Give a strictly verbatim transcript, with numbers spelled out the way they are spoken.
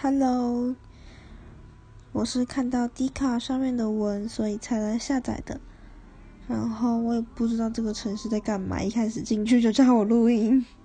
Hello，我是看到 D 卡上面的文，所以才来下载的。然后我也不知道这个城市在干嘛，一开始进去就叫我录音。